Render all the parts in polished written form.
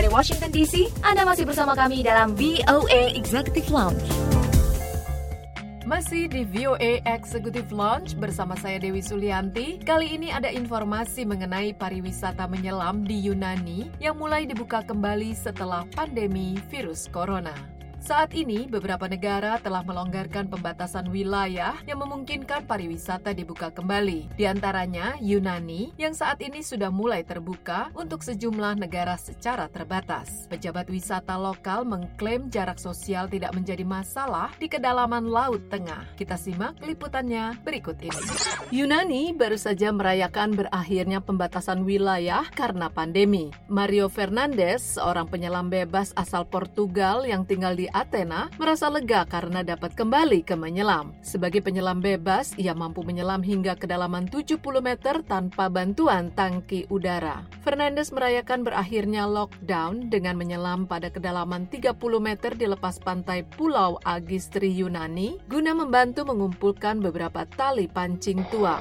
Washington DC. Anda masih bersama kami dalam VOA Executive Lounge. Masih di VOA Executive Lounge bersama saya Dewi Sulianti. Kali ini ada informasi mengenai pariwisata menyelam di Yunani yang mulai dibuka kembali setelah pandemi virus corona. Saat ini, beberapa negara telah melonggarkan pembatasan wilayah yang memungkinkan pariwisata dibuka kembali. Di antaranya, Yunani yang saat ini sudah mulai terbuka untuk sejumlah negara secara terbatas. Pejabat wisata lokal mengklaim jarak sosial tidak menjadi masalah di kedalaman Laut Tengah. Kita simak liputannya berikut ini. Yunani baru saja merayakan berakhirnya pembatasan wilayah karena pandemi. Mario Fernandes, seorang penyelam bebas asal Portugal yang tinggal di Athena, merasa lega karena dapat kembali ke menyelam. Sebagai penyelam bebas, ia mampu menyelam hingga kedalaman 70 meter tanpa bantuan tangki udara. Fernandes merayakan berakhirnya lockdown dengan menyelam pada kedalaman 30 meter di lepas pantai Pulau Agistri, Yunani, guna membantu mengumpulkan beberapa tali pancing tua.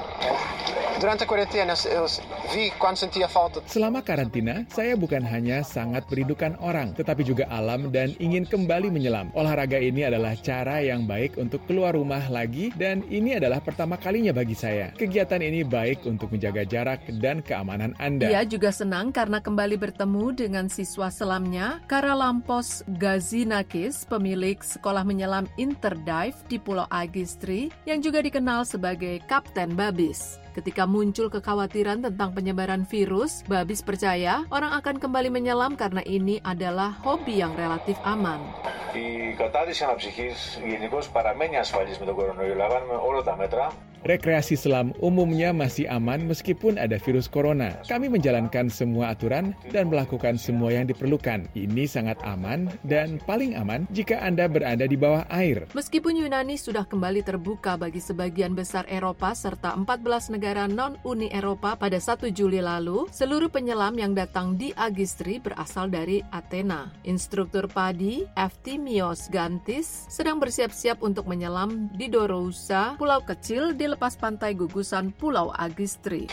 Selama karantina, saya bukan hanya sangat merindukan orang, tetapi juga alam dan ingin kembali menyelam. Olahraga ini adalah cara yang baik untuk keluar rumah lagi dan ini adalah pertama kalinya bagi saya. Kegiatan ini baik untuk menjaga jarak dan keamanan Anda. Ia juga senang karena kembali bertemu dengan siswa selamnya, Karalampos Gazinakis, pemilik sekolah menyelam Interdive di Pulau Agistri, yang juga dikenal sebagai Kapten Babis. Ketika muncul kekhawatiran tentang penyebaran virus, Babis percaya orang akan kembali menyelam karena ini adalah hobi yang relatif aman. Η κατάδυση αναψυχής γενικώς παραμένει ασφαλής με τον κορονοϊό. Λαμβάνουμε όλα τα μέτρα. Rekreasi selam umumnya masih aman meskipun ada virus corona. Kami menjalankan semua aturan dan melakukan semua yang diperlukan. Ini sangat aman dan paling aman jika Anda berada di bawah air. Meskipun Yunani sudah kembali terbuka bagi sebagian besar Eropa serta 14 negara non-Uni Eropa pada 1 Juli lalu, seluruh penyelam yang datang di Agistri berasal dari Athena. Instruktur padi, Eftimios Gantis, sedang bersiap-siap untuk menyelam di Dorousa, pulau kecil di lepas pantai gugusan Pulau Agistri.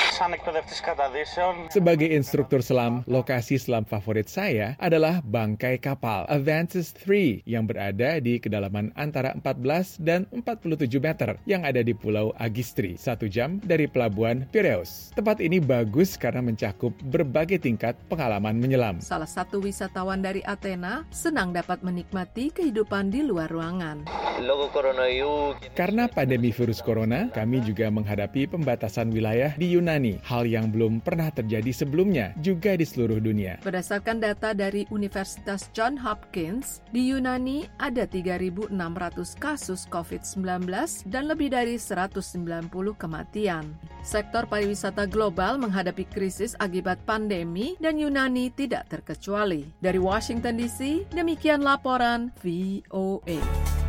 Sebagai instruktur selam, lokasi selam favorit saya adalah bangkai kapal Avantis III yang berada di kedalaman antara 14 dan 47 meter yang ada di Pulau Agistri, 1 jam dari pelabuhan Piraeus. Tempat ini bagus karena mencakup berbagai tingkat pengalaman menyelam. Salah satu wisatawan dari Athena senang dapat menikmati kehidupan di luar ruangan. Karena pandemi virus corona, kami juga menghadapi pembatasan wilayah di Yunani. Hal yang belum pernah terjadi sebelumnya, juga di seluruh dunia. Berdasarkan data dari Universitas Johns Hopkins, di Yunani ada 3.600 kasus COVID-19 dan lebih dari 190 kematian. Sektor pariwisata global menghadapi krisis akibat pandemi dan Yunani tidak terkecuali. Dari Washington DC, demikian laporan VOA.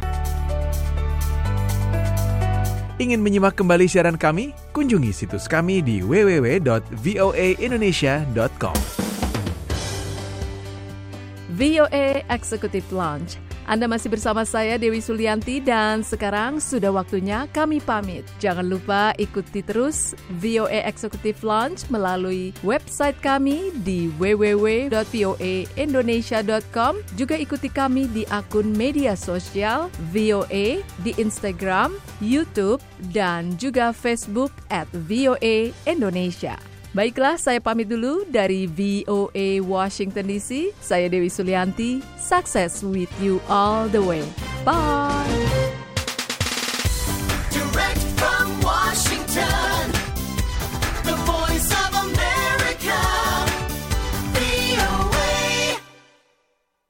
Ingin menyimak kembali siaran kami? Kunjungi situs kami di www.voaindonesia.com. VOA Executive Lounge. Anda masih bersama saya Dewi Sulianti dan sekarang sudah waktunya kami pamit. Jangan lupa ikuti terus VOA Executive Lounge melalui website kami di www.voaindonesia.com. Juga ikuti kami di akun media sosial VOA di Instagram, YouTube, dan juga Facebook @VOA Indonesia. Baiklah, saya pamit dulu dari VOA Washington DC. Saya Dewi Sulianti. Success with you all the way. Bye!